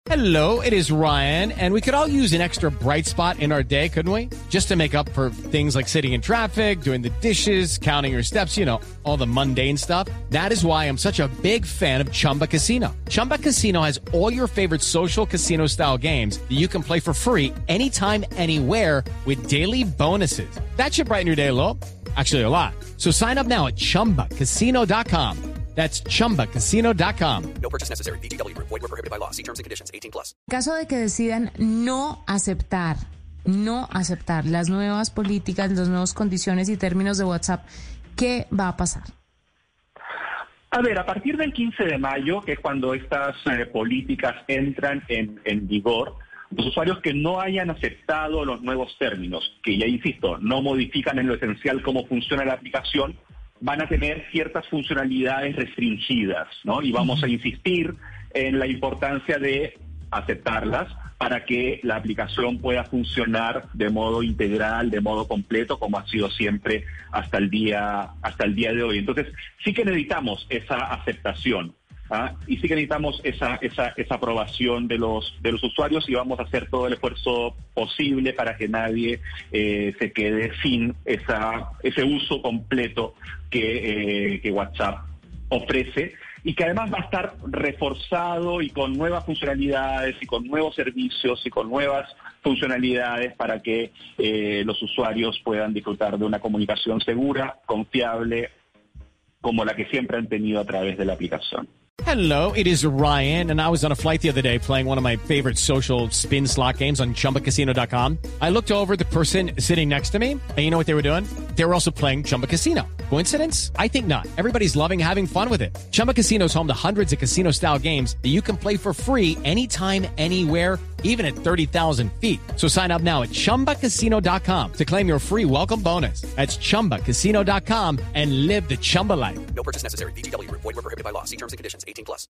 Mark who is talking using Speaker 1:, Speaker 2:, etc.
Speaker 1: Hello, it is Ryan, and we could all use an extra bright spot in our day, couldn't we? Just to make up for things like sitting in traffic, doing the dishes, counting your steps, you know, all the mundane stuff. That is why I'm such a big fan of Chumba Casino. Chumba Casino has all your favorite social casino-style games that you can play for free anytime, anywhere with daily bonuses. That should brighten your day a little. Actually, a lot. So sign up now at ChumbaCasino.com. That's ChumbaCasino.com.
Speaker 2: No purchase necessary. VGW Group. Void where prohibited by law. See terms and conditions. 18+.
Speaker 3: En caso de que decidan no aceptar las nuevas políticas, las nuevas condiciones y términos de WhatsApp, ¿qué va a pasar?
Speaker 4: A ver, a partir del 15 de mayo, que es cuando estas políticas entran en vigor, los usuarios que no hayan aceptado los nuevos términos, que ya insisto, no modifican en lo esencial cómo funciona la aplicación, van a tener ciertas funcionalidades restringidas, ¿no? Y vamos a insistir en la importancia de aceptarlas para que la aplicación pueda funcionar de modo integral, de modo completo, como ha sido siempre hasta el día de hoy. Entonces, sí que necesitamos esa aceptación, ¿ah? Y sí que necesitamos esa aprobación de los usuarios, y vamos a hacer todo el esfuerzo posible para que nadie se quede sin ese uso completo que WhatsApp ofrece, y que además va a estar reforzado y con nuevas funcionalidades y con nuevos servicios y con nuevas funcionalidades para que los usuarios puedan disfrutar de una comunicación segura, confiable, como la que siempre han tenido a través de la aplicación.
Speaker 1: Hello, it is Ryan, and I was on a flight the other day playing one of my favorite social spin slot games on ChumbaCasino.com. I looked over at the person sitting next to me, and you know what they were doing? They were also playing Chumba Casino. Coincidence? I think not. Everybody's loving having fun with it. Chumba Casino is home to hundreds of casino-style games that you can play for free anytime, anywhere, even at 30,000 feet. So sign up now at ChumbaCasino.com to claim your free welcome bonus. That's ChumbaCasino.com and live the Chumba life.
Speaker 2: No purchase necessary. VGW Group. Void where prohibited by law. See terms and conditions. 18+.